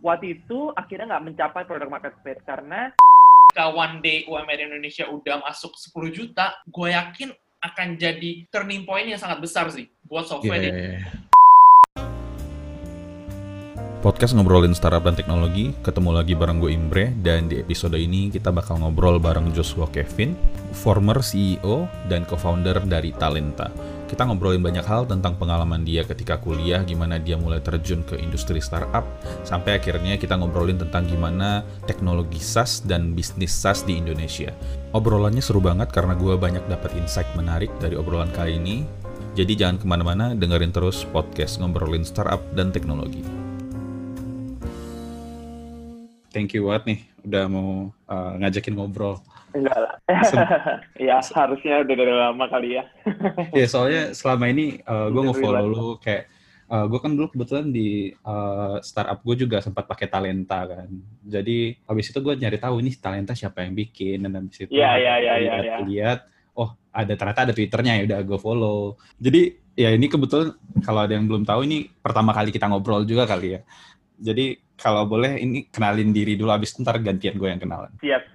waktu itu akhirnya nggak mencapai product market fit karena one day UMR Indonesia udah masuk 10 juta, gue yakin akan jadi turning point yang sangat besar sih buat software. Podcast ngobrolin startup dan teknologi, ketemu lagi bareng gue Imbre, dan di episode ini kita bakal ngobrol bareng Joshua Kevin, former CEO dan co-founder dari Talenta. Kita ngobrolin banyak hal tentang pengalaman dia ketika kuliah, gimana dia mulai terjun ke industri startup, sampai akhirnya kita ngobrolin tentang gimana teknologi SaaS dan bisnis SaaS di Indonesia. Obrolannya seru banget karena gue banyak dapat insight menarik dari obrolan kali ini, jadi jangan kemana-mana, dengerin terus podcast ngobrolin startup dan teknologi. Thank you banget nih, udah mau ngajakin ngobrol. Enggak lah. Ya, harusnya udah dari lama kali ya. Ya, soalnya selama ini gue nge-follow lu kayak, gue kan dulu kebetulan di startup gue juga sempat pakai Talenta kan. Jadi, habis itu gue nyari tahu ini Talenta siapa yang bikin, dan habis itu lihat, oh ternyata ada Twitternya, ya udah gue follow. Jadi, ya ini kebetulan kalau ada yang belum tahu, ini pertama kali kita ngobrol juga kali ya. Jadi kalau boleh ini kenalin diri dulu, abis ntar gantian gue yang kenalan. Siap.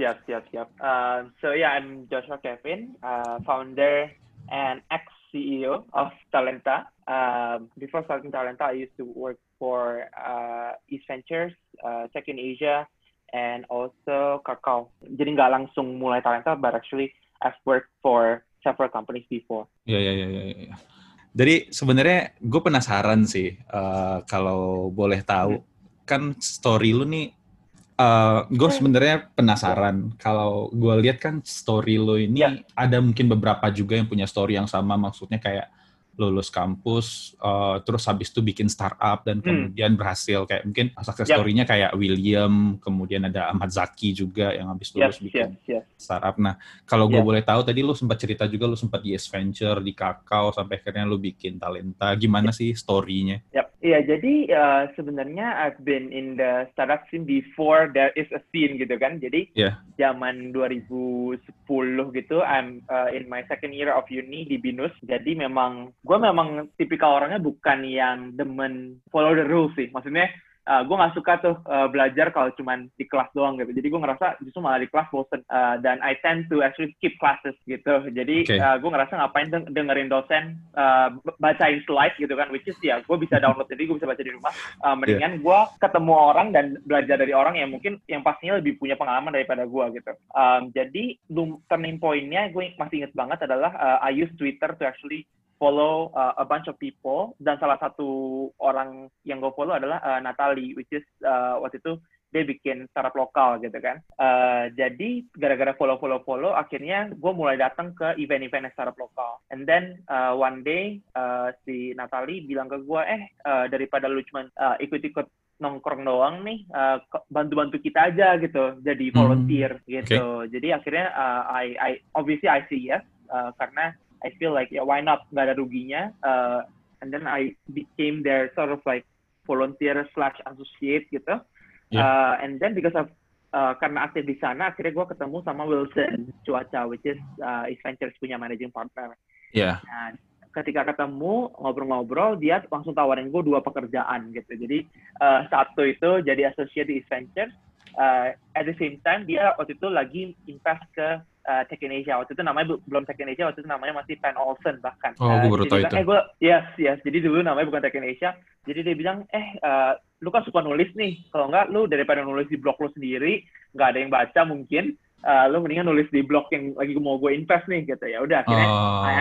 So yeah, I'm Joshua Kevin, founder and ex-CEO of Talenta. Before starting Talenta, I used to work for East Ventures, Tech in Asia, and also Kakao. Jadi nggak langsung mulai Talenta, but actually I've worked for several companies before. Ya. Jadi sebenarnya gue penasaran sih, kalau boleh tahu, kan story lu nih, gue sebenarnya penasaran. Kalau gue lihat kan story lu ini ada mungkin beberapa juga yang punya story yang sama, maksudnya kayak lulus kampus, terus habis itu bikin startup dan kemudian berhasil, kayak mungkin success story-nya kayak William, kemudian ada Ahmad Zaki juga yang habis lulus bikin startup. Nah, kalau gue boleh tahu, tadi lu sempat cerita juga lu sempat di East Venture, di Kakao, sampai akhirnya lu bikin Talenta. Gimana sih story-nya? Iya, jadi sebenarnya I've been in the startup scene before there is a scene gitu kan. Jadi zaman 2010 gitu, I'm in my second year of uni di BINUS. Jadi gue memang tipikal orangnya bukan yang demen follow the rules sih. Maksudnya gue nggak suka tuh belajar kalau cuman di kelas doang gitu. Jadi gue ngerasa justru malah di kelas bosen. Dan I tend to actually skip classes gitu. Jadi gue ngerasa ngapain dengerin dosen bacain slide gitu kan, which is gue bisa download, jadi gue bisa baca di rumah. Mendingan gue ketemu orang dan belajar dari orang yang mungkin yang pastinya lebih punya pengalaman daripada gue gitu. Jadi turning point-nya gue masih inget banget adalah I use Twitter to actually follow a bunch of people, dan salah satu orang yang gue follow adalah Natalie, which is waktu itu dia bikin startup lokal gitu kan. Jadi gara-gara follow, akhirnya gue mulai datang ke event-event startup lokal. And then one day si Natalie bilang ke gue, daripada lu cuma ikut-ikut nongkrong doang nih, bantu-bantu kita aja gitu, jadi volunteer gitu. Jadi akhirnya I obviously I say yes, karena I feel like why not, nggak ada ruginya. And then I became their sort of like volunteer/associate gitu. And then because of karena aktif di sana, akhirnya gue ketemu sama Wilson Cuaca, which is East Ventures punya managing partner. Nah, ketika ketemu ngobrol-ngobrol, dia langsung tawarin gue 2 pekerjaan gitu. Jadi satu itu jadi associate di East Ventures. At the same time dia waktu itu lagi invest ke Tech in Asia. Waktu itu namanya belum Tech in Asia, waktu itu namanya masih Pan Olsen bahkan. Gue baru tahu itu. Yes. Jadi dulu namanya bukan Tech in Asia. Jadi dia bilang, lu kan suka nulis nih. Kalau enggak, lu daripada nulis di blog lu sendiri, nggak ada yang baca mungkin, lu mendingan nulis di blog yang lagi mau gue invest nih gitu. Ya udah, akhirnya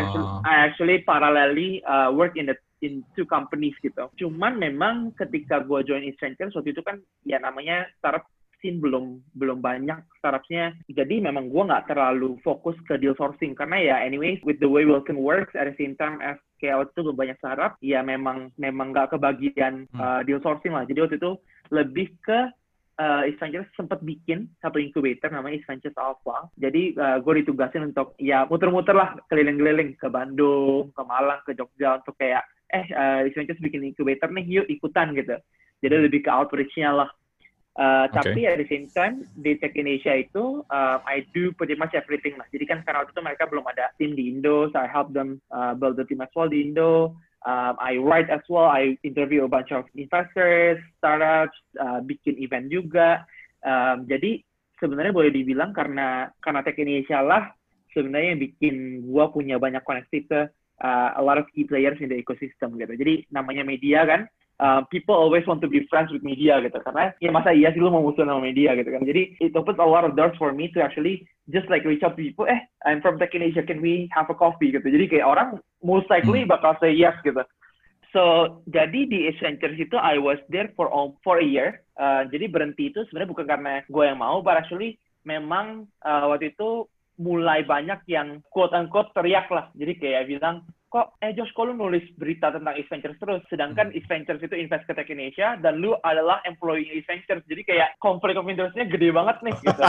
I actually parallelly work in 2 companies gitu. Cuman memang ketika gue join East Ventures waktu itu kan ya namanya startup scene belum banyak startupnya, jadi memang gue nggak terlalu fokus ke deal sourcing, karena ya anyways with the way Wilson works, at the same time as kayak waktu itu belum banyak startup, ya memang nggak kebagian deal sourcing lah. Jadi waktu itu lebih ke East Ventures sempat bikin satu incubator namanya East Ventures Alpha. Jadi gue ditugasin untuk ya muter-muter lah, keliling-keliling ke Bandung, ke Malang, ke Jogja untuk kayak East Ventures bikin incubator nih, yuk ikutan gitu. Jadi lebih ke outreach-nya lah. Tapi at the same time di Tech in Asia itu I do pretty much everything lah. Jadi kan karena waktu itu mereka belum ada tim di Indo, so I help them build the team as well di Indo. I write as well. I interview a bunch of investors, startups, bikin event juga. Jadi sebenarnya boleh dibilang karena Tech Indonesia lah sebenarnya yang bikin gue punya banyak koneksi ke a lot of key players in the ecosystem gitu. Jadi namanya media kan, people always want to be friends with media gitu. Karena ya masa iya sih lu mau musuh sama media gitu kan. Jadi it opens a lot of doors for me to actually just like reach out to people, I'm from Tech Indonesia, can we have a coffee gitu. Jadi kayak orang most likely bakal say yes gitu. So, jadi di Ace Ventures itu I was there for a year. Jadi berhenti itu sebenarnya bukan karena gue yang mau, but actually memang waktu itu mulai banyak yang quote-unquote teriak lah. Jadi kayak bilang, Josh, kok lu nulis berita tentang Ace Ventures terus? Sedangkan Ace Ventures itu invest ke Tech Indonesia, dan lu adalah employee Ace Ventures. Jadi kayak konflik of interest-nya gede banget nih, gitu.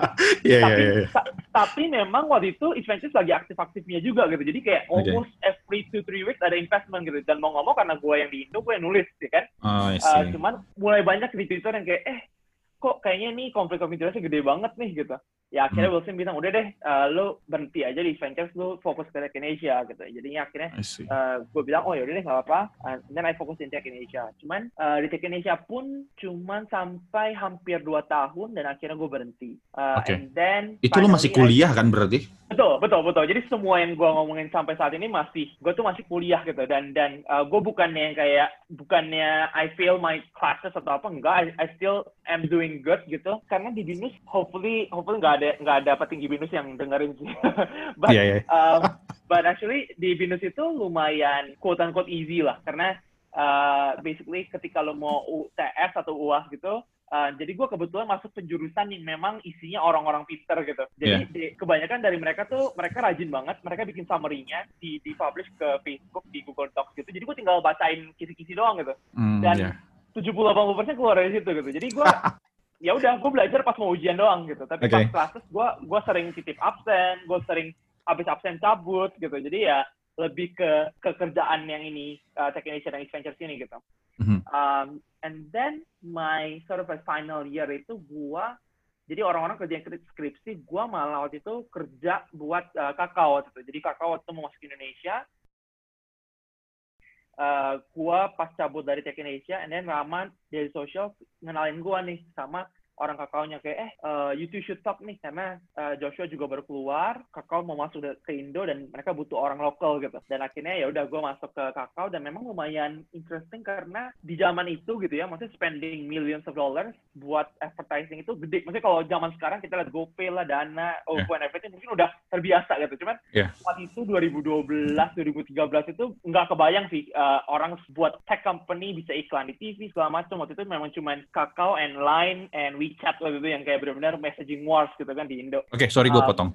Tapi memang waktu itu Ace Ventures lagi aktif-aktifnya juga, gitu. Jadi kayak almost every 2-3 weeks ada investment, gitu. Dan mau ngomong karena gue yang di Indo, gue yang nulis, ya kan? Cuman mulai banyak di Twitter yang kayak, kok kayaknya nih konflik of interest-nya gede banget nih, gitu. Ya akhirnya Wilson bilang, udah deh, lo berhenti aja di Ventures, lo fokus ke Tech Indonesia, gitu. Jadinya akhirnya gue bilang, yaudah deh, nggak apa-apa. Dan I fokus di Tech Indonesia. Cuman di Tech Indonesia pun cuman sampai hampir 2 tahun, dan akhirnya gue berhenti. And then, itu lo masih kuliah kan berarti? Betul. Jadi semua yang gue ngomongin sampai saat ini gue tuh masih kuliah gitu. Dan gue bukannya I fail my classes atau apa, enggak. I still am doing good gitu. Karena di BINUS, hopefully nggak ada petinggi BINUS yang dengerin sih. But actually di BINUS itu lumayan quote unquote easy lah. Karena basically ketika lo mau UTS atau UAS gitu, jadi gue kebetulan masuk penjurusan yang memang isinya orang-orang pinter gitu. Jadi kebanyakan dari mereka rajin banget. Mereka bikin summary-nya di-publish ke Facebook, di Google Docs gitu. Jadi gue tinggal bacain kisi-kisi doang gitu. Dan 70-80% keluar dari situ gitu. Jadi gue ya udah, gue belajar pas mau ujian doang gitu. Tapi pas classes gue sering titip absen, gue sering habis absen cabut gitu. Jadi ya lebih ke kerjaan yang ini, Tech Indonesia dan Ace Ventures ini gitu. And then my sort of final year itu jadi orang-orang kerja skripsi, gue malah waktu itu kerja buat Kakao waktu itu. Jadi Kakao waktu itu mau masuk Indonesia, gue pas cabut dari Tech Indonesia, and then Rahman dari social ngenalin gue nih sama orang Kakao-nya kayak, you two should talk nih, karena Joshua juga baru keluar, Kakao mau masuk ke Indo, dan mereka butuh orang lokal gitu. Dan akhirnya ya udah gue masuk ke Kakao, dan memang lumayan interesting karena di zaman itu gitu ya, maksudnya spending millions of dollars buat advertising itu gede. Maksudnya kalau zaman sekarang kita lihat GoPay lah, Dana, OVO, and everything mungkin udah terbiasa gitu. Cuman waktu itu 2012, 2013 itu nggak kebayang sih orang buat tech company bisa iklan di TV segala macam. Waktu itu memang cuman Kakao and Line and WeChat waktu itu yang kayak benar-benar messaging wars gitu kan di Indo. Sorry gue potong.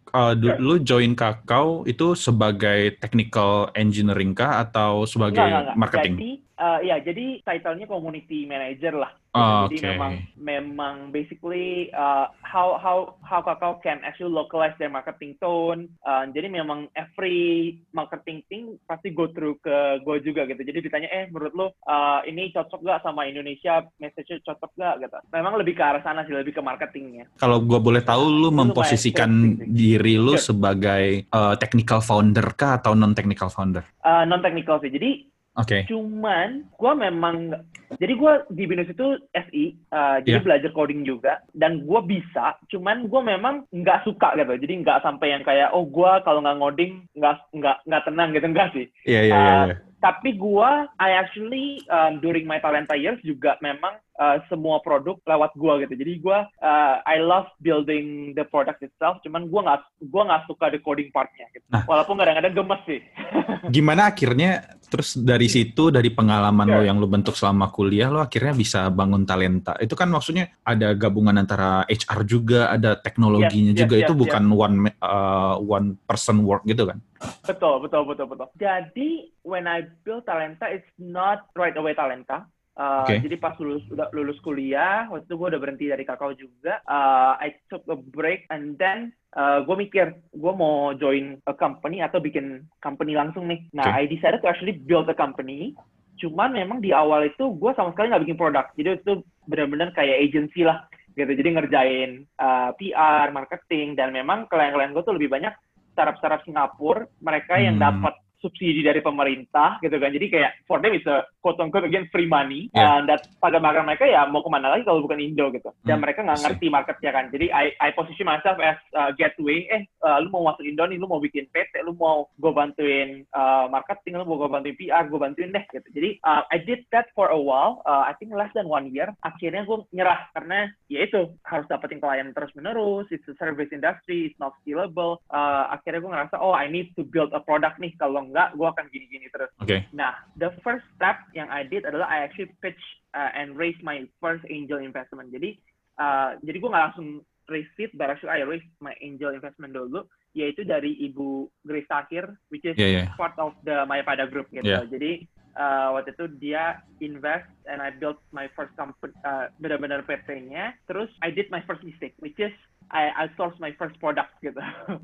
Lu join Kakao itu sebagai technical engineering kah atau sebagai marketing? Jadi title-nya community manager lah. Jadi memang basically how Kakao can actually localize their marketing tone. Jadi memang every marketing thing pasti go through ke gue juga gitu. Jadi ditanya, menurut lo ini cocok gak sama Indonesia, message-nya cocok gak gitu. Memang lebih ke arah sana sih, lebih ke marketingnya. Kalau gue boleh tahu, lu memposisikan diri lu sebagai technical founder kah atau non-technical founder? Non-technical sih. Jadi cuman gue gue di BINUS itu SI, jadi belajar coding juga, dan gue bisa, cuman gue memang nggak suka gitu. Jadi nggak sampai yang kayak gue kalau nggak ngoding nggak tenang gitu, enggak sih. Tapi I actually during my Talenta years juga memang semua produk lewat gue gitu. Jadi I love building the product itself. Cuman gue nggak suka the coding partnya. Gitu. Walaupun kadang-kadang gemes sih. Gimana akhirnya terus dari situ, dari pengalaman lo yang lo bentuk selama kuliah, lo akhirnya bisa bangun Talenta. Itu kan maksudnya ada gabungan antara HR juga, ada teknologinya juga. Itu bukan one person work gitu kan? Betul. Jadi when I build Talenta, it's not right away Talenta. Jadi pas lulus kuliah, waktu itu gue udah berhenti dari Kakao juga. I took a break, and then gue mikir, gue mau join a company atau bikin company langsung nih. Nah, I decided to actually build a company. Cuman memang di awal itu gue sama sekali nggak bikin produk. Jadi itu benar-benar kayak agency lah, gitu. Jadi ngerjain PR, marketing, dan memang klien-klien gue tuh lebih banyak startup Singapura. Mereka yang dapat subsidi dari pemerintah gitu kan. Jadi kayak for them it's a quote unquote again free money. Dan pada market mereka ya mau kemana lagi kalau bukan Indo gitu. Dan mereka nggak ngerti marketnya kan. Jadi I position myself as gateway. Lu mau masuk Indo nih, lu mau bikin PT, lu mau gue bantuin marketing, lu mau gue bantuin PR, gue bantuin deh gitu. Jadi I did that for a while. I think less than 1 year. Akhirnya gue nyerah karena ya itu harus dapetin klien terus menerus. It's a service industry, it's not scalable. Akhirnya gue ngerasa I need to build a product nih, kalau enggak gue akan gini-gini terus. Nah, the first step yang I did adalah I actually pitch and raise my first angel investment. Jadi gue nggak langsung raise it, but actually I raise my angel investment dulu, yaitu dari Ibu Grace Tahir, which is part of the Mayapada Group gitu. Jadi waktu itu dia invest and I built my first company, benar-benar PT-nya. Terus I did my first mistake, which is I outsourced my first product gitu.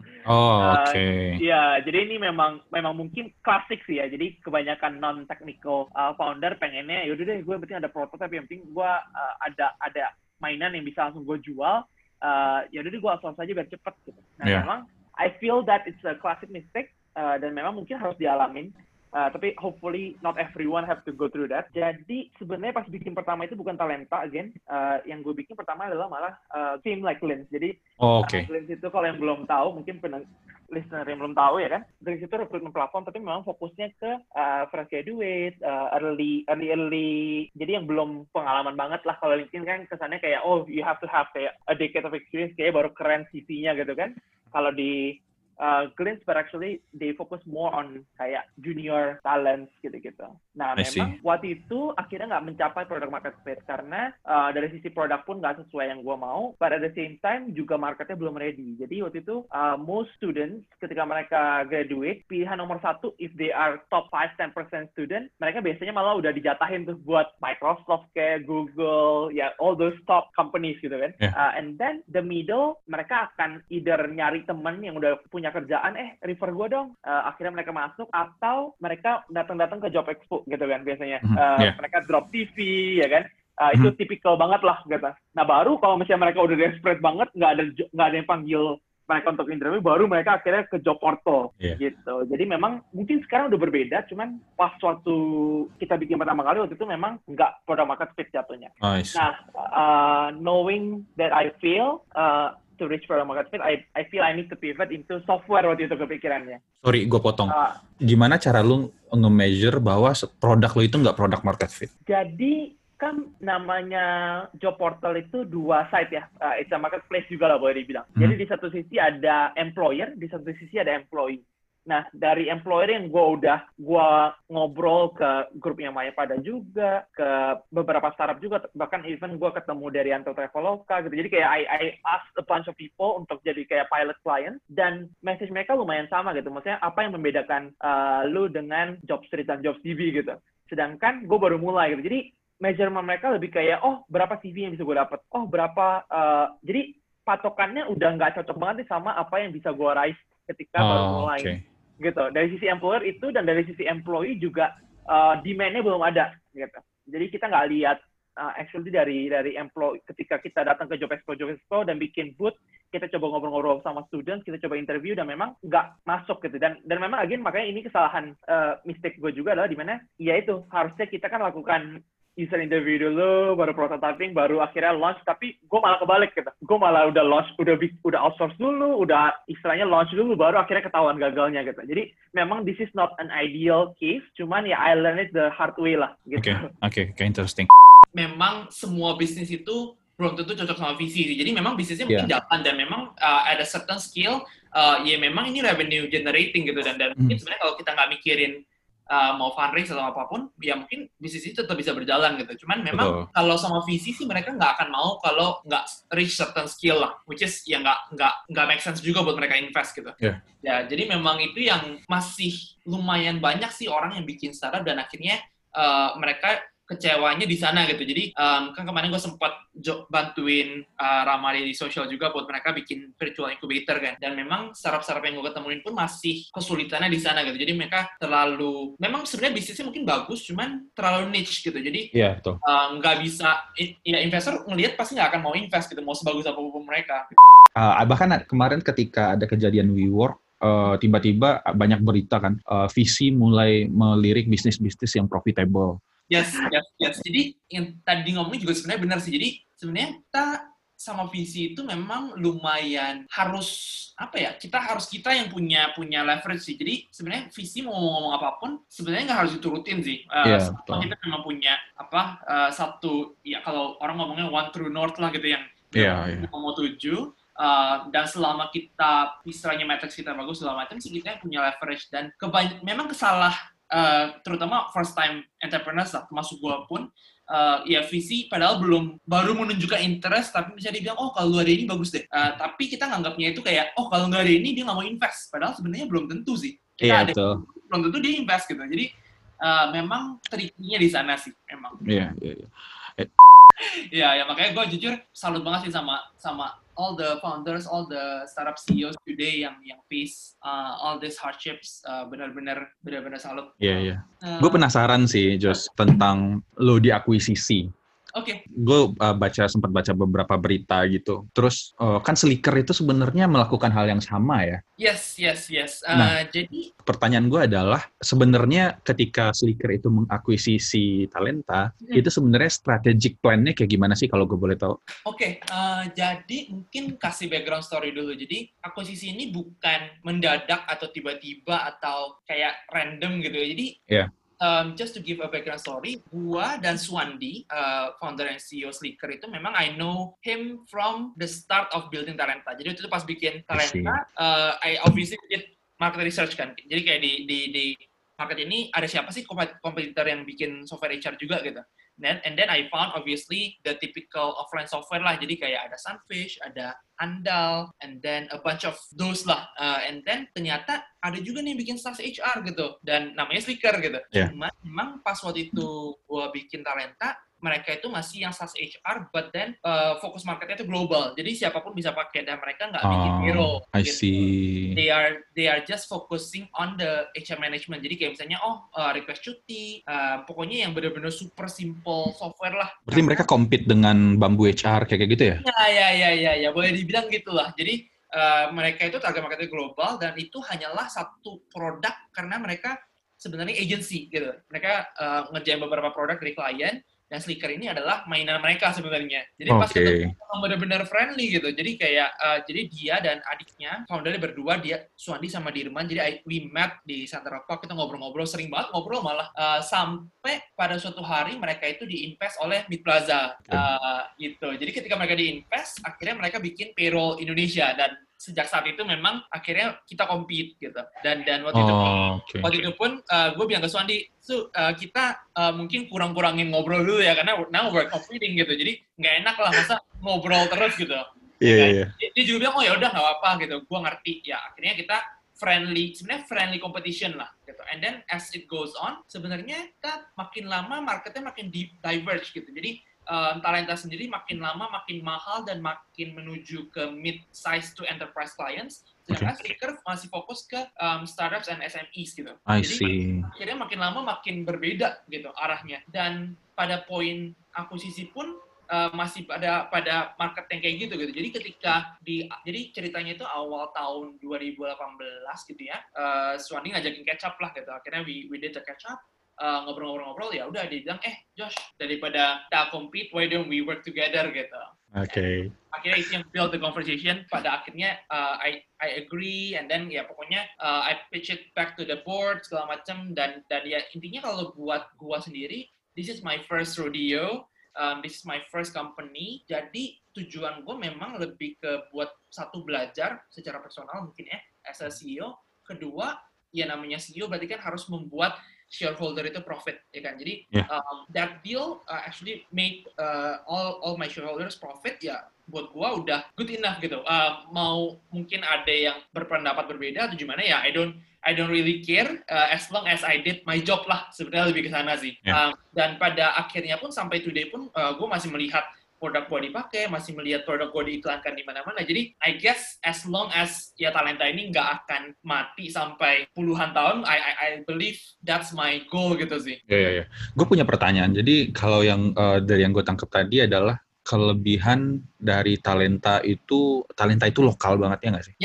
Ya, jadi ini memang mungkin klasik sih ya. Jadi kebanyakan non-technical founder pengennya, yaudah deh gue penting ada prototype, yang penting gue ada mainan yang bisa langsung gue jual. Yaudah deh gue outsource aja biar cepet gitu. Nah memang I feel that it's a classic mistake dan memang mungkin harus dialamin. Tapi hopefully not everyone have to go through that. Jadi sebenarnya pas bikin pertama itu bukan talenta again. Yang gue bikin pertama adalah malah team like Lens. Jadi Lens itu kalau yang belum tahu, mungkin listener yang belum tahu ya kan, Lens itu recruitment platform, tapi memang fokusnya ke fresh graduate, early. Jadi yang belum pengalaman banget lah. Kalau LinkedIn kan kesannya kayak you have to have kayak a decade of experience, kayak baru keren CV-nya gitu kan. Kalau di Glint, but actually they focus more on kayak junior talents gitu-gitu. Nah, memang waktu itu akhirnya nggak mencapai product market fit karena dari sisi produk pun nggak sesuai yang gue mau, but at the same time juga marketnya belum ready. Jadi waktu itu most students ketika mereka graduate, pilihan nomor satu if they are top 5-10% student, mereka biasanya malah udah dijatahin tuh buat Microsoft kayak Google, ya all those top companies gitu kan. And then the middle, mereka akan either nyari temen yang udah punya kerjaan, refer gue dong. Akhirnya mereka masuk, atau mereka datang ke job expo gitu kan biasanya. Mereka drop TV ya kan. Itu tipikal banget lah gitu. Nah baru kalau misalnya mereka udah desperate banget, nggak ada yang panggil mereka untuk interview, baru mereka akhirnya ke job portal gitu. Jadi memang mungkin sekarang udah berbeda, cuman pas waktu kita bikin pertama kali waktu itu memang nggak product market fit jatuhnya. Nah, knowing that I fail to reach product market fit, I feel I need to pivot into software waktu itu kepikirannya. Sorry, gue potong. Gimana cara lu nge-measure bahwa produk lu itu nggak product market fit? Jadi kan namanya job portal itu dua side ya. It's a marketplace juga lah boleh dibilang. Jadi di satu sisi ada employer, di satu sisi ada employee. Nah, dari employer yang gue ngobrol ke grupnya Mayapada juga, ke beberapa startup juga, bahkan even gue ketemu dari Anto Traveloka gitu. Jadi kayak I ask a bunch of people untuk jadi kayak pilot client, dan message mereka lumayan sama gitu. Maksudnya apa yang membedakan lu dengan job street dan job CV gitu. Sedangkan gue baru mulai gitu. Jadi measurement mereka lebih kayak, berapa CV yang bisa gue dapat? Berapa, jadi patokannya udah nggak cocok banget nih sama apa yang bisa gue raise ketika baru mulai. Gitu. Dari sisi employer itu dan dari sisi employee juga demand-nya belum ada gitu. Jadi kita nggak lihat actually dari employee ketika kita datang ke job expo dan bikin booth, kita coba ngobrol-ngobrol sama students, kita coba interview dan memang nggak masuk gitu. Dan memang again makanya ini kesalahan mistake gue juga adalah di mana ya itu harusnya kita kan lakukan user interview dulu, baru prototyping, baru akhirnya launch. Tapi gue malah kebalik gitu. Gue malah udah launch, udah outsource dulu, udah istilahnya launch dulu, baru akhirnya ketahuan gagalnya gitu. Jadi memang this is not an ideal case, cuman ya I learned it the hard way lah gitu. Oke, interesting. Memang semua bisnis itu belum tentu cocok sama visi. Jadi memang bisnisnya mungkin jalan dan memang ada certain skill, ya memang ini revenue generating gitu. Dan mungkin sebenarnya kalau kita nggak mikirin mau fundraise atau apapun, ya mungkin bisnis itu tetap bisa berjalan gitu. Cuman memang kalau sama visi sih mereka nggak akan mau kalau nggak reach certain skill lah, which is ya nggak make sense juga buat mereka invest gitu. Ya jadi memang itu yang masih lumayan banyak sih orang yang bikin startup dan akhirnya mereka kecewanya di sana gitu. Jadi kan kemarin gue sempat bantuin Ramali di sosial juga buat mereka bikin virtual incubator kan. Dan memang startup-startup yang gue ketemuin pun masih kesulitannya di sana gitu. Jadi mereka memang sebenarnya bisnisnya mungkin bagus, cuman terlalu niche gitu. Jadi nggak bisa, ya investor ngelihat pasti nggak akan mau invest gitu, mau sebagus apapun mereka. Bahkan kemarin ketika ada kejadian WeWork, tiba-tiba banyak berita kan, VC mulai melirik bisnis-bisnis yang profitable. Yes. Jadi yang tadi ngomongin juga sebenarnya benar sih. Jadi sebenarnya kita sama VC itu memang lumayan harus kita yang punya leverage sih. Jadi sebenarnya VC mau ngomong apapun sebenarnya nggak harus diturutin sih. Kita memang punya satu ya kalau orang ngomongnya one true north lah gitu yang mau tuju. Dan selama kita istilahnya matrix kita bagus segala macam sih kita punya leverage dan memang terutama first time entrepreneurs lah termasuk gue pun ya VC padahal baru menunjukkan interest tapi bisa dibilang kalau ada ini bagus deh tapi kita nganggapnya itu kayak kalau nggak ada ini dia nggak mau invest padahal sebenarnya belum tentu sih belum tentu dia invest gitu jadi memang trikinya di sana sih memang ya makanya gue jujur salut banget sih sama all the founders, all the startup CEOs today yang face all these hardships, benar-benar salut. Iya. Gue penasaran sih, Jos, tentang lo diakuisisi. Oke. Gue sempat baca beberapa berita gitu. Terus kan Slicker itu sebenarnya melakukan hal yang sama ya? Yes. Jadi pertanyaan gue adalah sebenarnya ketika Slicker itu mengakuisisi Talenta, itu sebenarnya strategic plan-nya kayak gimana sih kalau gue boleh tahu? Oke. Jadi mungkin kasih background story dulu. Jadi akuisisi ini bukan mendadak atau tiba-tiba atau kayak random gitu ya. Jadi just to give a background story, gua dan Swandi, founder and CEO Slicker itu memang I know him from the start of building Talenta. Jadi itu pas bikin Talenta, I obviously did market research kan. Jadi kayak di market ini ada siapa sih kompetitor yang bikin software HR juga gitu. And then I found obviously the typical offline software lah. Jadi kayak ada Sunfish, ada Andal, and then a bunch of those lah. And then ternyata ada juga nih yang bikin SaaS HR gitu. Dan namanya Slicker gitu. Cuma memang pas waktu itu gue bikin Talenta, mereka itu masih yang SaaS HR, but then fokus marketnya itu global. Jadi siapapun bisa pakai dan mereka nggak bikin payroll. I see. They are just focusing on the HR management. Jadi kayak misalnya request cuti, pokoknya yang benar-benar super simple software lah. Berarti mereka compete dengan Bamboo HR kayak gitu ya? Ya, boleh dibilang gitulah. Jadi mereka itu target marketnya global dan itu hanyalah satu produk karena mereka sebenarnya agency gitu. Mereka ngerjain beberapa produk dari klien. Dan Slicker ini adalah mainan mereka sebenarnya. Jadi pas ketemu benar-benar friendly gitu. Jadi kayak jadi dia dan adiknya, foundernya berdua, dia Swandi sama Dirman. Jadi we met di Central Park, kita ngobrol-ngobrol, sering banget ngobrol malah sampai pada suatu hari mereka itu diinvest oleh Mid Plaza gitu. Jadi ketika mereka diinvest, akhirnya mereka bikin payroll Indonesia dan sejak saat itu memang akhirnya kita compete gitu dan waktu itu pun gue bilang ke Swandi kita mungkin kurangin ngobrol dulu ya karena now we're competing gitu jadi nggak enak lah masa ngobrol terus gitu Iya. Dia juga bilang ya udah nggak apa-apa gitu gue ngerti ya akhirnya kita friendly competition lah gitu and then as it goes on sebenarnya kita makin lama marketnya makin diverge gitu jadi Talenta sendiri makin lama makin mahal dan makin menuju ke mid-size to enterprise clients. Sedangkan Slicker masih fokus ke startups and SMEs gitu. Jadi akhirnya makin lama makin berbeda gitu arahnya. Dan pada poin akuisisi pun masih pada market yang kayak gitu. Jadi ketika jadi ceritanya itu awal tahun 2018 gitu ya. Swandi ngajakin catch up lah gitu. Akhirnya we did the catch up. Ngobrol-ngobrol ya udah dia bilang Josh daripada kita compete why don't we work together gitu. Akhirnya itu yang build the conversation pada akhirnya I agree and then ya pokoknya I pitch it back to the board segala macam dan ya intinya kalau buat gua sendiri this is my first rodeo, this is my first company jadi tujuan gua memang lebih ke buat satu belajar secara personal mungkin as a CEO, kedua ya namanya CEO berarti kan harus membuat shareholder itu profit ya kan jadi that deal actually made all my shareholders profit ya buat gua udah good enough gitu mau mungkin ada yang berpendapat berbeda atau gimana ya I don't really care as long as I did my job lah sebenarnya lebih ke sana sih dan pada akhirnya pun sampai today pun gua masih melihat produk gue dipakai, masih melihat produk gue diiklankan di mana-mana. Jadi, I guess as long as ya Talenta ini nggak akan mati sampai puluhan tahun, I believe that's my goal gitu sih. Iya. Gue punya pertanyaan. Jadi, kalau yang dari yang gue tangkap tadi adalah kelebihan dari Talenta itu lokal banget ya nggak sih? Yes.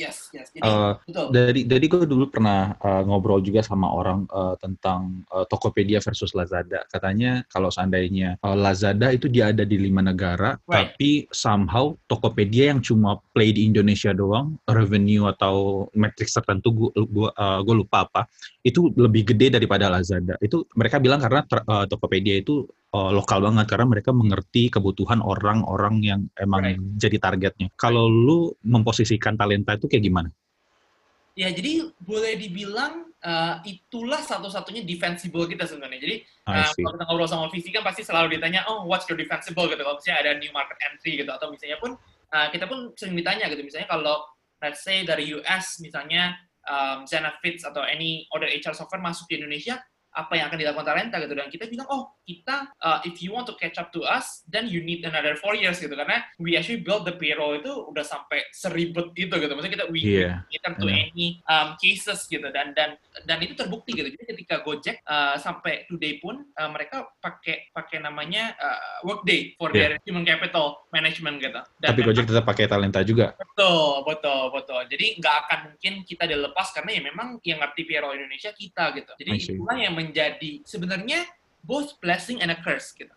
Jadi, betul. Dari gue dulu pernah ngobrol juga sama orang tentang Tokopedia versus Lazada. Katanya kalau seandainya Lazada itu dia ada di 5 negara, tapi somehow Tokopedia yang cuma play di Indonesia doang, revenue atau matrix tertentu gue lupa apa, itu lebih gede daripada Lazada. Itu mereka bilang karena Tokopedia itu lokal banget karena mereka mengerti kebutuhan orang-orang yang emang jadi targetnya. Kalau lu memposisikan talenta itu kayak gimana? Ya, jadi boleh dibilang itulah satu-satunya defensible kita sebenarnya. Jadi kalau kita ngobrol sama VC kan pasti selalu ditanya, oh what's your defensible gitu. Kalau misalnya ada new market entry gitu, atau misalnya pun kita pun sering ditanya gitu. Misalnya kalau let's say dari US misalnya Zenefits atau any other HR software masuk di Indonesia, apa yang akan dilakukan talenta gitu, dan kita bilang kita if you want to catch up to us then you need another 4 years gitu, karena we actually build the payroll itu udah sampai seribet itu gitu, maksudnya kita we cater to any cases gitu, dan itu terbukti gitu. Jadi ketika Gojek sampai today pun mereka pakai namanya Workday for their human capital management gitu. Dan tapi Gojek tetap pakai talenta juga. Betul. Jadi nggak akan mungkin kita dilepas karena ya memang yang ngerti payroll Indonesia kita gitu. Jadi itulah yang menjadi sebenarnya both blessing and a curse gitu.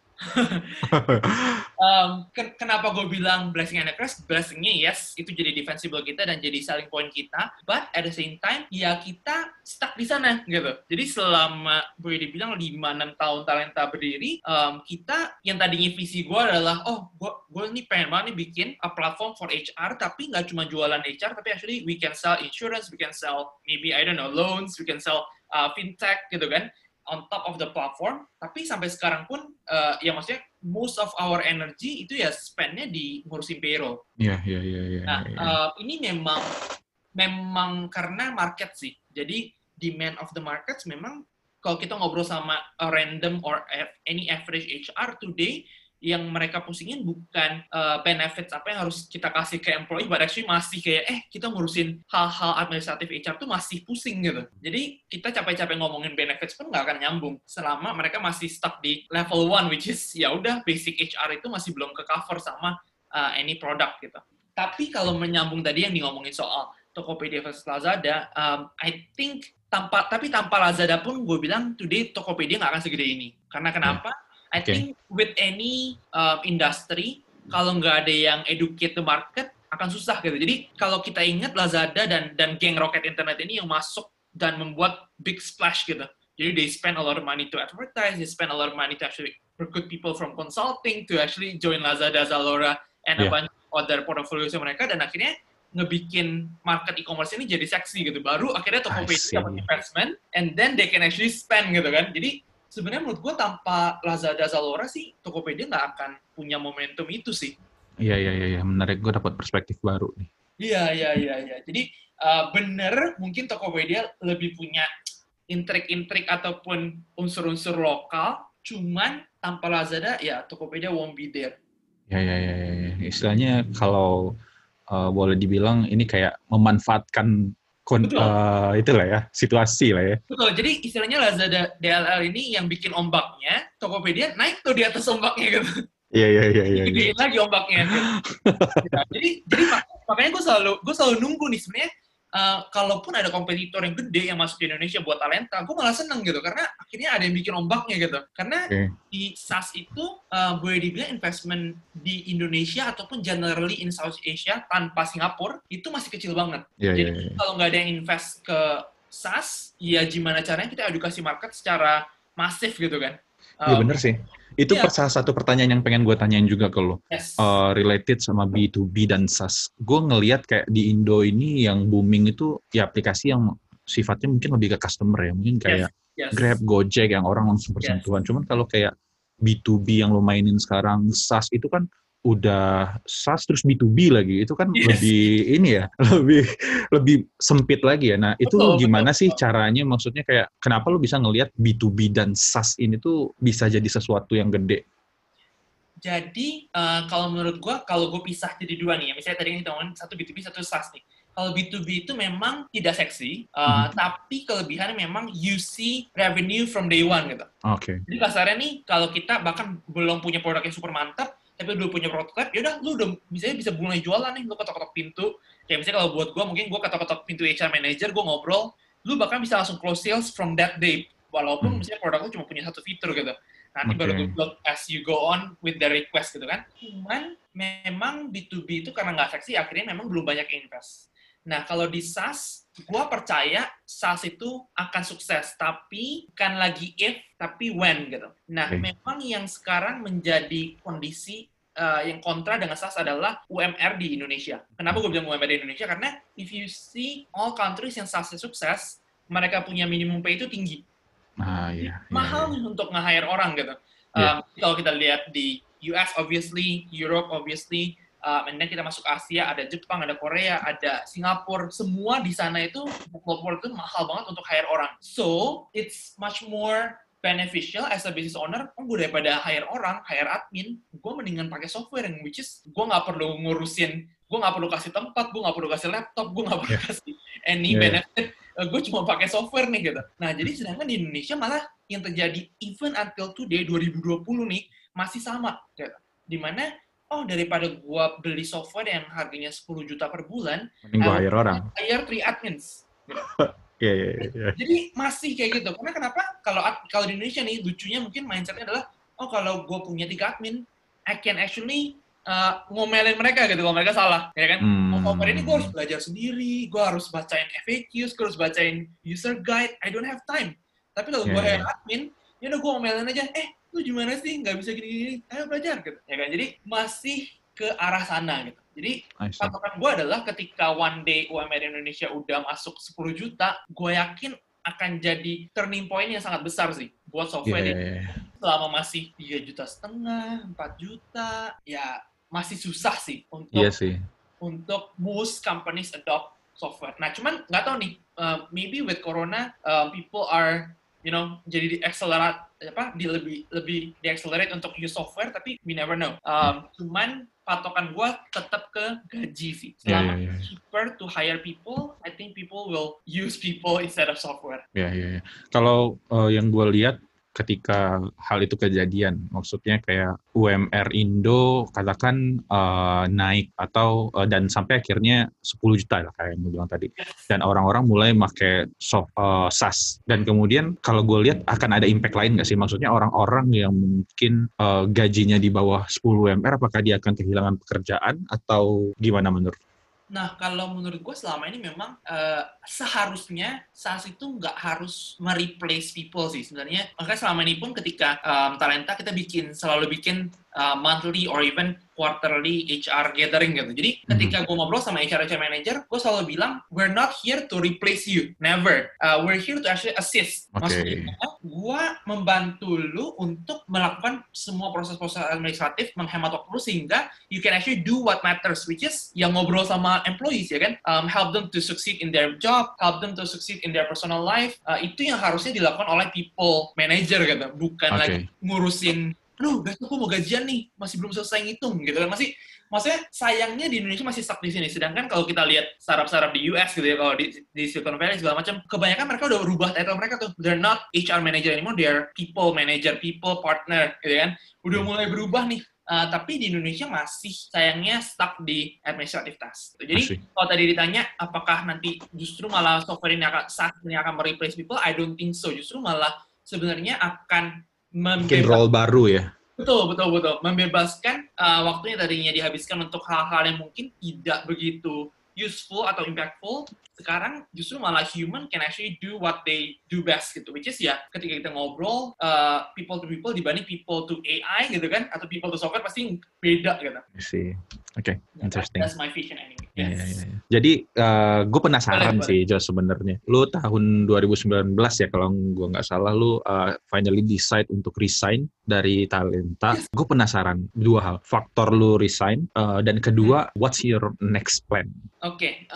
Kenapa gue bilang blessing and a curse? Blessingnya yes, itu jadi defensible kita dan jadi selling point kita. But at the same time, ya kita stuck di sana gitu. Jadi selama boleh dibilang 5-6 tahun talenta berdiri, kita yang tadinya visi gue adalah, gue nih pengen banget nih bikin a platform for HR, tapi nggak cuma jualan HR, tapi actually we can sell insurance, we can sell maybe I don't know loans, we can sell fintech gitu kan, on top of the platform. Tapi sampai sekarang pun ya maksudnya most of our energy itu ya spend-nya di ngurusin payroll. Iya. Ini memang karena market sih. Jadi demand of the markets memang kalau kita ngobrol sama a random or any average HR today, yang mereka pusingin bukan benefits apa yang harus kita kasih ke employee, but actually masih kayak kita ngurusin hal-hal administratif HR tuh masih pusing gitu. Jadi kita capek-capek ngomongin benefits pun nggak akan nyambung selama mereka masih stuck di level 1, which is ya udah basic HR itu masih belum ke cover sama any product gitu. Tapi kalau menyambung tadi yang ngomongin soal Tokopedia versus Lazada, I think tanpa Lazada pun gue bilang today Tokopedia nggak akan segede ini. Karena kenapa? I think with any industry, kalau nggak ada yang educate the market, akan susah gitu. Jadi kalau kita ingat Lazada dan geng Rocket Internet ini yang masuk dan membuat big splash gitu. Jadi they spend a lot of money to advertise, they spend a lot of money to actually recruit people from consulting to actually join Lazada, Zalora, and a bunch of other portfolios mereka, dan akhirnya ngebikin market e-commerce ini jadi seksi gitu. Baru akhirnya Tokopedia dapat investment, and then they can actually spend gitu kan. Jadi sebenarnya menurut gue tanpa Lazada, Zalora sih Tokopedia nggak akan punya momentum itu sih. Iya. Menarik, gue dapat perspektif baru nih. Iya. Jadi bener mungkin Tokopedia lebih punya intrik-intrik ataupun unsur-unsur lokal, cuman tanpa Lazada ya Tokopedia won't be there. Ya. Istilahnya kalau boleh dibilang ini kayak memanfaatkan itulah ya, situasi lah ya. Betul, jadi istilahnya Lazada DLL ini yang bikin ombaknya, Tokopedia naik tuh di atas ombaknya gitu. Iya. Gedein lagi ombaknya. Gitu. Jadi makanya gue selalu nunggu nih sebenarnya. Kalaupun ada kompetitor yang gede yang masuk di Indonesia buat talenta, gue malah seneng gitu, karena akhirnya ada yang bikin ombaknya gitu. Karena di SaaS itu, boleh dibilang investment di Indonesia ataupun generally in South Asia tanpa Singapura, itu masih kecil banget. Jadi kalau nggak ada yang invest ke SaaS, ya gimana caranya kita edukasi market secara masif gitu kan. Iya bener sih. Itu salah satu pertanyaan yang pengen gue tanyain juga ke lo. Related sama B2B dan SaaS. Gue ngelihat kayak di Indo ini yang booming itu ya aplikasi yang sifatnya mungkin lebih ke customer ya. Mungkin kayak Grab, Gojek yang orang langsung bersentuhan. Cuman kalau kayak B2B yang lo mainin sekarang, SaaS itu kan udah SaaS terus B2B lagi. Itu kan lebih ini ya, lebih sempit lagi ya. Nah, itu gimana sih caranya, maksudnya kayak kenapa lu bisa ngelihat B2B dan SaaS ini tuh bisa jadi sesuatu yang gede? Jadi, kalau menurut gue, kalau gue pisah jadi dua nih, ya, misalnya tadi kita ngomongin satu B2B, satu SaaS nih. Kalau B2B itu memang tidak seksi, tapi kelebihannya memang you see revenue from day one gitu. Jadi kasarnya nih, kalau kita bahkan belum punya produk yang super mantap, tapi lu punya prototype, yaudah lu udah bisa mulai jualan nih, lu ketok-ketok pintu. Kayak misalnya kalau buat gue, mungkin gue ketok-ketok pintu HR manager, gue ngobrol, lu bahkan bisa langsung close sales from that day, walaupun misalnya produk lu cuma punya satu fitur gitu. Nanti baru tuh build as you go on with the request gitu kan. Cuman memang B2B itu karena nggak seksi, akhirnya memang belum banyak invest. Nah, kalau di SaaS, gue percaya SaaS itu akan sukses, tapi bukan lagi if, tapi when gitu. Nah, memang yang sekarang menjadi kondisi yang kontra dengan SaaS adalah UMR di Indonesia. Kenapa gue bilang UMR di Indonesia? Karena if you see all countries yang SaaS-nya sukses, mereka punya minimum pay itu tinggi. Mahal untuk nge-hire orang gitu. Kalau kita lihat di US, obviously, Europe, obviously, and then kita masuk Asia, ada Jepang, ada Korea, ada Singapura, semua di sana itu mahal banget untuk hire orang. So, it's much more beneficial as a business owner, gue daripada hire orang, hire admin, gue mendingan pakai software yang which is, gue nggak perlu ngurusin, gue nggak perlu kasih tempat, gue nggak perlu kasih laptop, gue nggak perlu kasih any benefit, gue cuma pakai software nih gitu. Nah, jadi sedangkan di Indonesia malah yang terjadi even until today, 2020 nih, masih sama gitu. Dimana daripada gua beli software yang harganya 10 juta per bulan, mending gua hire orang. Hire 3 admins. Yeah. Jadi masih kayak gitu. Karena kenapa? Kalau di Indonesia nih, lucunya mungkin mindsetnya adalah, kalau gua punya 3 admin, I can actually ngomelin mereka gitu kalau mereka salah, ya kan? Software ini gua harus belajar sendiri, gua harus bacain FAQs, gua harus bacain user guide, I don't have time. Tapi kalau gua hire admin, ya udah gua ngomelin aja, lu gimana sih nggak bisa gini-gini, ayo belajar gitu, ya kan? Jadi masih ke arah sana gitu. Jadi patokan gue adalah ketika one day UMR Indonesia udah masuk 10 juta, gue yakin akan jadi turning point yang sangat besar sih buat software ini. Selama masih 3,5 juta, 4 juta, ya masih susah sih untuk most companies adopt software. Nah, cuman nggak tahu nih, maybe with Corona, people are jadi lebih di-accelerate untuk use software, tapi we never know. Cuman patokan gue tetap ke gaji sih. Selama cheaper to hire people, I think people will use people instead of software. Kalau yang gue lihat ketika hal itu kejadian, maksudnya kayak UMR Indo katakan naik atau dan sampai akhirnya 10 juta lah kayak yang gue bilang tadi, dan orang-orang mulai pakai SaaS, dan kemudian kalau gue lihat akan ada impact lain nggak sih, maksudnya orang-orang yang mungkin gajinya di bawah 10 UMR, apakah dia akan kehilangan pekerjaan atau gimana menurut? Nah, kalau menurut gue selama ini memang seharusnya SaaS itu nggak harus mereplace people sih sebenarnya. Makanya selama ini pun ketika Talenta kita selalu bikin monthly or even quarterly HR gathering gitu. Jadi ketika gue ngobrol sama HR manager, gue selalu bilang, we're not here to replace you, never. We're here to actually assist. Maksudnya, gue membantu lu untuk melakukan semua proses-proses administratif, menghemat waktu lu sehingga you can actually do what matters, which is yang ngobrol sama employees, ya kan? Help them to succeed in their job, help them to succeed in their personal life. Itu yang harusnya dilakukan oleh people manager gitu, bukan lagi ngurusin, aduh, besok gue mau gajian nih, masih belum selesai ngitung gitu kan. Maksudnya sayangnya di Indonesia masih stuck di sini. Sedangkan kalau kita lihat startup-startup di US gitu ya, kalau di Silicon Valley segala macam, kebanyakan mereka udah berubah title mereka tuh. They're not HR manager anymore, they're people manager, people partner gitu kan. Udah mulai berubah nih. Tapi di Indonesia masih sayangnya stuck di administrative task. Jadi kalau tadi ditanya apakah nanti justru malah software ini akan mereplace people, I don't think so. Justru malah sebenarnya akan bikin role baru ya. Betul. Membebaskan waktunya tadinya dihabiskan untuk hal-hal yang mungkin tidak begitu useful atau impactful. Sekarang justru malah human can actually do what they do best gitu. Which is ya ketika kita ngobrol people to people dibanding people to AI gitu kan, atau people to software pasti beda gitu. I see. Okay, interesting. That's my vision anyway. Yes. Yeah. Jadi gue penasaran sih, Jos, sebenarnya. Lu tahun 2019 ya kalau gue nggak salah, lu finally decide untuk resign dari Talenta. Gue penasaran dua hal. Faktor lu resign, dan kedua, what's your next plan? Oke,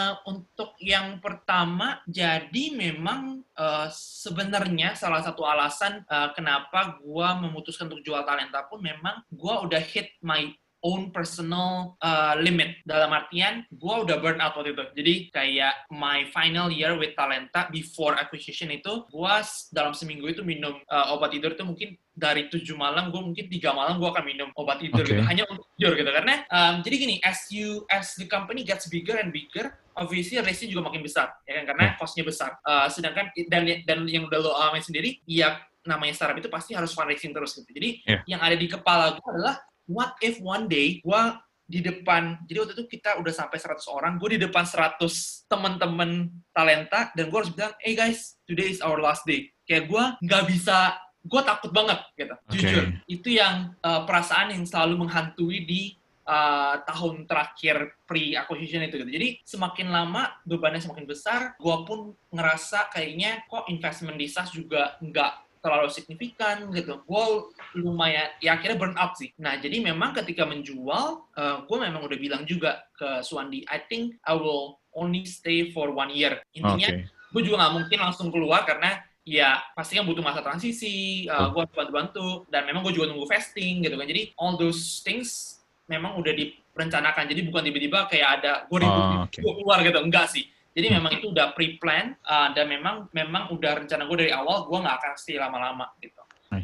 untuk yang pertama, jadi memang sebenarnya salah satu alasan kenapa gue memutuskan untuk jual Talenta pun memang gue udah hit my own personal limit. Dalam artian, gue udah burn out waktu itu. Jadi kayak my final year with Talenta before acquisition itu, gue dalam seminggu itu minum obat tidur itu mungkin dari 7 malam, gue mungkin 3 malam gue akan minum obat tidur gitu. Hanya untuk tidur gitu. Karena jadi gini, as the company gets bigger and bigger, obviously risk-nya juga makin besar, ya kan? Karena cost-nya besar. Sedangkan dan yang udah lo alami sendiri, ya namanya startup itu pasti harus fundraising terus gitu. Jadi yang ada di kepala gue adalah what if one day gue di depan, jadi waktu itu kita udah sampai 100 orang, gue di depan 100 teman-teman Talenta, dan gue harus bilang, hey guys, today is our last day. Kayak gue nggak bisa, gue takut banget gitu, jujur. Itu yang perasaan yang selalu menghantui di tahun terakhir pre-acquisition itu gitu. Jadi semakin lama bebannya semakin besar, gue pun ngerasa kayaknya kok investment di SaaS juga nggak terlalu signifikan gitu. Gue lumayan, ya akhirnya burn out sih. Nah, jadi memang ketika menjual, gue memang udah bilang juga ke Suwandi, I think I will only stay for 1 year. Intinya, gue juga nggak mungkin langsung keluar karena ya pasti kan butuh masa transisi, gue harus bantu-bantu, dan memang gue juga nunggu vesting gitu kan. Jadi all those things memang udah direncanakan. Jadi bukan tiba-tiba kayak ada gue keluar gitu, enggak sih. Jadi memang itu udah pre-plan dan memang udah rencana gue dari awal gue nggak akan stay lama-lama gitu.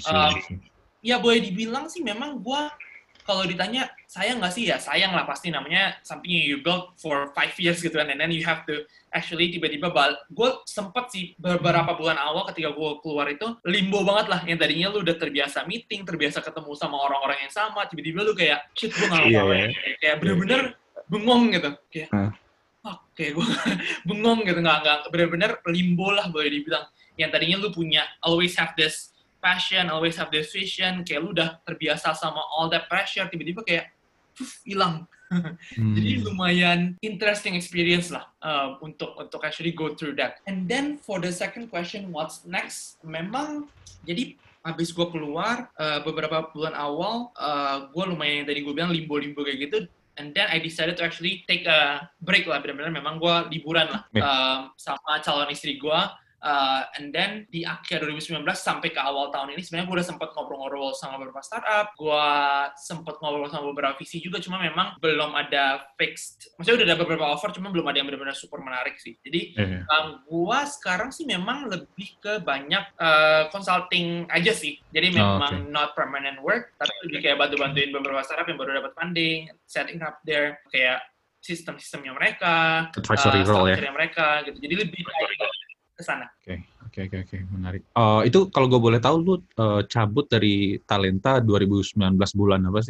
Ya boleh dibilang sih memang gue kalau ditanya sayang nggak sih ya, sayang lah pasti, namanya something you build for 5 years gitu kan, and then you have to actually tiba-tiba gue sempet sih beberapa bulan awal ketika gue keluar itu limbo banget lah, yang tadinya lu udah terbiasa meeting, terbiasa ketemu sama orang-orang yang sama, tiba-tiba lu kayak shit gue nggak ngapain, kayak bener-bener bengong gitu, kayak kayak gue bengong gitu, nggak bener-bener limbo lah boleh dibilang, yang tadinya lu punya always have this passion, always have this vision, kayak lu udah terbiasa sama all that pressure, tiba-tiba kayak hilang. Jadi lumayan interesting experience lah untuk actually go through that. And then for the second question, what's next? Memang jadi habis gue keluar beberapa bulan awal, gue lumayan tadi gue bilang limbo-limbo kayak gitu. And then I decided to actually take a break lah, benar-benar memang gue liburan lah sama calon istri gue. And then di akhir 2019 sampai ke awal tahun ini sebenarnya gue udah sempat ngobrol-ngobrol sama beberapa startup, gue sempat ngobrol sama beberapa VC juga, cuma memang belum ada fixed, maksudnya udah ada beberapa offer, cuma belum ada yang benar-benar super menarik sih. Jadi gue sekarang sih memang lebih ke banyak consulting aja sih, jadi memang not permanent work, tapi lebih kayak bantu-bantuin beberapa startup yang baru dapat funding, setting up their kayak sistem-sistemnya mereka, advisory role ya mereka gitu, jadi lebih kayak ke sana. Oke, menarik. Itu kalau gue boleh tahu, lu cabut dari Talenta 2019 bulan apa sih?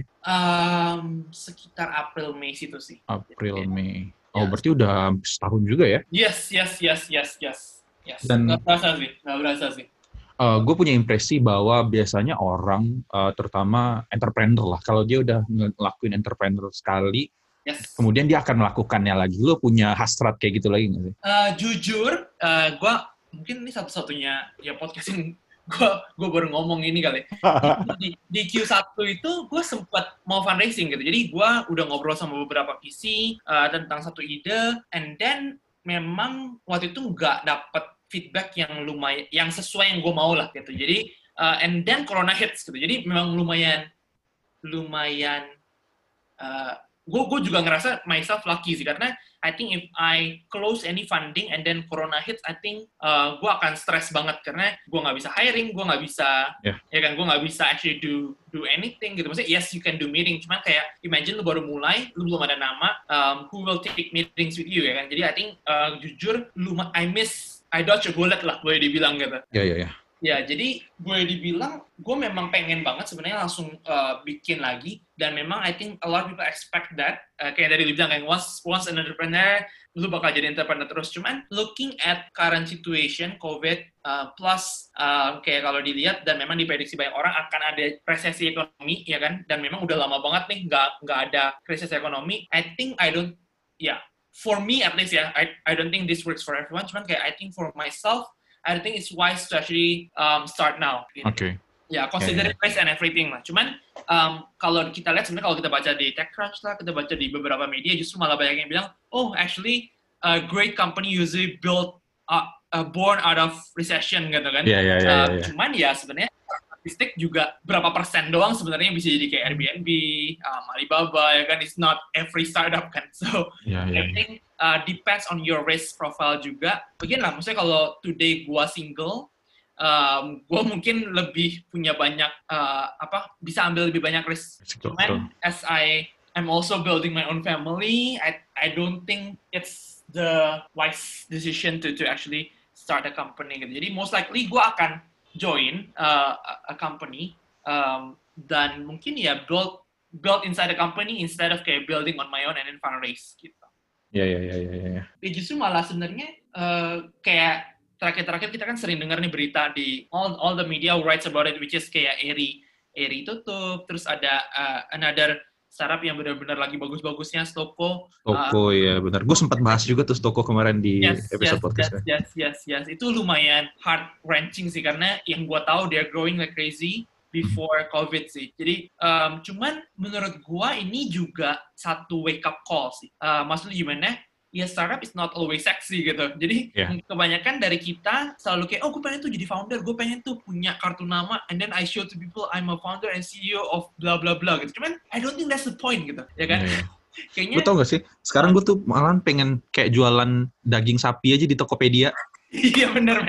Sekitar April Mei situ sih. April Mei. Berarti udah setahun juga ya? Yes. Dan nggak berasa sih. Gue punya impresi bahwa biasanya orang, terutama entrepreneur lah, kalau dia udah ngelakuin entrepreneur sekali, kemudian dia akan melakukannya lagi. Lu punya hasrat kayak gitu lagi nggak sih? Jujur, gue mungkin ini satu-satunya ya podcast yang gue baru ngomong ini kali. Di Q1 itu gue sempat mau fundraising gitu. Jadi gue udah ngobrol sama beberapa VC tentang satu ide, and then memang waktu itu nggak dapet feedback yang lumayan, yang sesuai yang gue mau lah gitu. Jadi and then Corona hits gitu. Jadi memang lumayan gue juga ngerasa myself lucky sih, karena I think if I close any funding and then Corona hits, I think gue akan stress banget karena gue nggak bisa hiring, gue nggak bisa, ya kan, gue nggak bisa actually do anything gitu. Maksudnya yes you can do meeting, cuman kayak imagine lu baru mulai, lu belum ada nama, who will take meetings with you, ya kan. Jadi I think jujur I dodge a bullet lah boleh dibilang gitu. Ya, jadi boleh dibilang gue memang pengen banget sebenarnya langsung bikin lagi, dan memang I think a lot of people expect that, kayak dari dibilang kayak once an entrepreneur, lu bakal jadi entrepreneur terus. Cuman looking at current situation, COVID, plus kayak kalau dilihat dan memang diprediksi banyak orang akan ada resesi ekonomi, ya kan, dan memang udah lama banget nih nggak ada krisis ekonomi. For me at least ya, I don't think this works for everyone, cuman kayak I think for myself, I think it's wise to actually start now. Gitu. Ya, consider price and everything lah. Cuman kalau kita lihat sebenarnya kalau kita baca di TechCrunch lah, kita baca di beberapa media, justru malah banyak yang bilang, actually a great company usually born out of recession gitu kan. Yeah. Cuman ya sebenarnya statistik juga berapa persen doang sebenarnya bisa jadi kayak Airbnb, Alibaba, ya kan, it's not every startup kan. So I think depends on your risk profile juga. Again lah, maksudnya kalau today gua single, gue mungkin lebih punya banyak bisa ambil lebih banyak risk. Cuman as I am also building my own family, I don't think it's the wise decision to actually start a company gitu. Jadi most likely gue akan join a company dan mungkin ya build inside a company instead of kayak building on my own and then fundraise gitu. Ya. Justru malah sebenarnya kayak terakhir-terakhir kita kan sering dengar nih berita di all the media writes about it, which is kayak Eri tutup, terus ada another startup yang benar-benar lagi bagus-bagusnya, Stoko. Ya benar. Gue sempat bahas juga tuh Stoko kemarin di episode podcast. Yes. Itu lumayan heart-wrenching sih, karena yang gue tahu they're growing like crazy before COVID sih. Jadi cuman menurut gue ini juga satu wake up call sih. Maksudnya gimana? Ya startup is not always sexy gitu. Jadi kebanyakan dari kita selalu kayak, gue pengen tuh jadi founder, gue pengen tuh punya kartu nama, and then I show to people I'm a founder and CEO of blah blah blah gitu. Cuman I don't think that's the point gitu, ya kan? Kayaknya. Gue tau gak sih? Sekarang gue tuh malah pengen kayak jualan daging sapi aja di Tokopedia. Iya bener.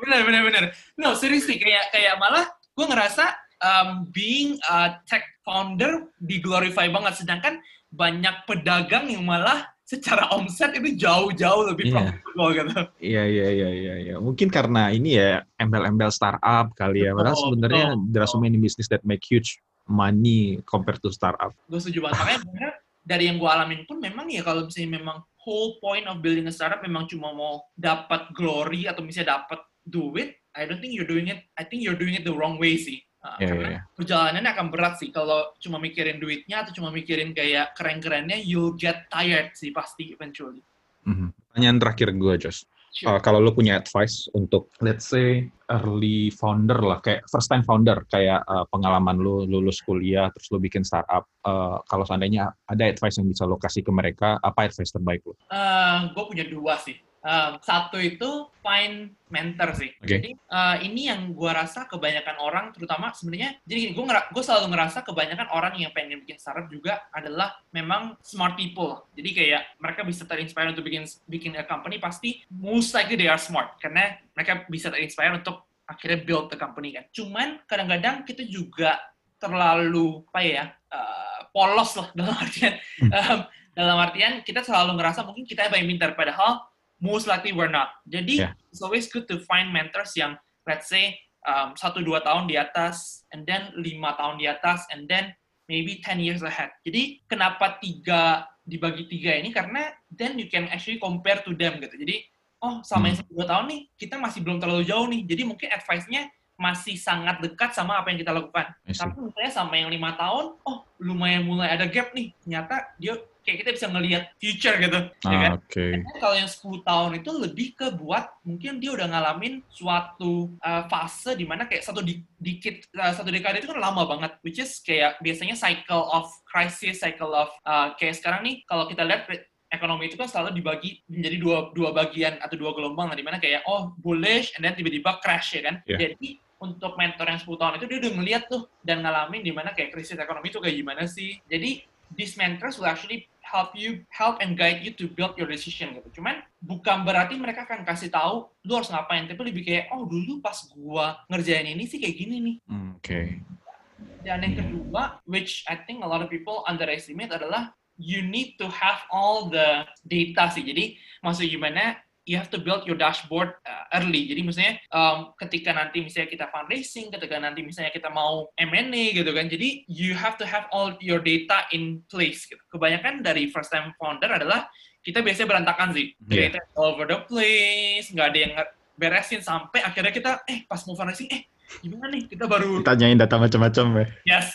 No seriously, kayak malah gue ngerasa being a tech founder diglorify banget, sedangkan banyak pedagang yang malah secara omset itu jauh-jauh lebih profitable gitu. Iya. Mungkin karena ini ya embel-embel startup kali ya. Padahal sebenarnya there are so many business that make huge money compared to startup. Gue setuju banget. Makanya bener, dari yang gue alamin pun memang ya kalau misalnya memang whole point of building a startup memang cuma mau dapat glory atau misalnya dapat duit, I think you're doing it the wrong way sih. Karena perjalanannya akan berat sih kalau cuma mikirin duitnya atau cuma mikirin kayak keren-kerennya, you'll get tired sih pasti eventually. Pertanyaan terakhir gue, Josh. Sure. Kalau lu punya advice untuk let's say early founder lah, kayak first time founder, kayak pengalaman lu lulus kuliah terus lu bikin startup, kalau seandainya ada advice yang bisa lu kasih ke mereka, apa advice terbaik lu? Gue punya dua sih. Satu itu find mentor sih. Jadi ini yang gue rasa kebanyakan orang, terutama sebenarnya, jadi gue selalu ngerasa kebanyakan orang yang pengen bikin startup juga adalah memang smart people. Jadi kayak mereka bisa terinspire untuk bikin a company, pasti most likely they are smart karena mereka bisa terinspire untuk akhirnya build the company kan. Cuman kadang-kadang kita juga terlalu polos lah dalam artian kita selalu ngerasa mungkin kita yang paling pintar, padahal most likely we're not. Jadi, it's always good to find mentors yang, let's say, 1-2 tahun di atas, and then 5 tahun di atas, and then maybe 10 years ahead. Jadi, kenapa dibagi 3 ini? Karena then you can actually compare to them gitu. Jadi, sama yang 1-2 tahun nih, kita masih belum terlalu jauh nih. Jadi, mungkin advice-nya masih sangat dekat sama apa yang kita lakukan. Tapi misalnya sama yang 5 tahun, lumayan mulai ada gap nih. Ternyata dia kayak kita bisa ngelihat future gitu, ya kan? Kalau yang 10 tahun itu lebih ke buat mungkin dia udah ngalamin suatu fase di mana kayak satu dekade itu kan lama banget, which is kayak biasanya cycle of crisis, cycle of kayak sekarang nih kalau kita lihat ekonomi itu kan selalu dibagi menjadi dua bagian atau 2 gelombang, di mana kayak bullish and then tiba-tiba crash, ya kan? Jadi untuk mentor yang 10 tahun itu dia udah ngeliat tuh dan ngalamin di mana kayak krisis ekonomi itu kayak gimana sih. Jadi these mentors will actually help and guide you to build your decision gitu. Cuman bukan berarti mereka akan kasih tahu lu harus ngapain, tapi lebih kayak dulu pas gua ngerjain ini sih kayak gini nih. Dan yang kedua, which I think a lot of people underestimate, adalah you need to have all the data sih. Jadi maksudnya gimana? You have to build your dashboard early. Jadi misalnya ketika nanti misalnya kita fundraising, ketika nanti misalnya kita mau M&A gitu kan. Jadi you have to have all your data in place gitu. Kebanyakan dari first time founder adalah kita biasanya berantakan sih. Data all over the place, nggak ada yang beresin sampai akhirnya kita pas mau fundraising gimana nih, kita baru tanyain data macam-macam ya. Yes.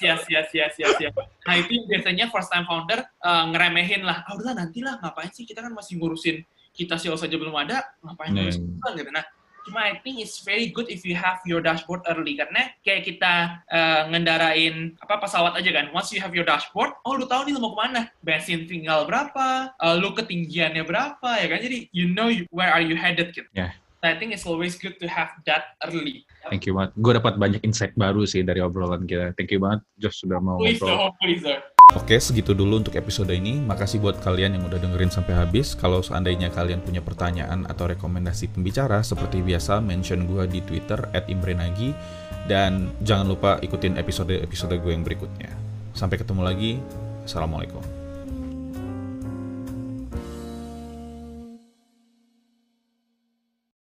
Nah itu biasanya first time founder ngeremehin lah. Udahlah nantilah, ngapain sih, kita kan masih ngurusin kita sih saja belum ada, ngapain ngurusin gitu. Nah cuma I think it's very good if you have your dashboard early, karena kayak kita ngendarain pesawat aja kan. Once you have your dashboard, lu tahu nih lu mau kemana, bensin tinggal berapa, lu ketinggiannya berapa, ya kan. Jadi you know where are you headed gitu. I think it's always good to have that early. Thank you banget. Gue dapat banyak insight baru sih dari obrolan kita. Thank you banget, Josh, sudah mau ngobrol. Please. Oke, segitu dulu untuk episode ini. Makasih buat kalian yang udah dengerin sampai habis. Kalau seandainya kalian punya pertanyaan atau rekomendasi pembicara, seperti biasa, mention gue di Twitter @imrenagi. Dan jangan lupa ikutin episode-episode gue yang berikutnya. Sampai ketemu lagi. Assalamualaikum.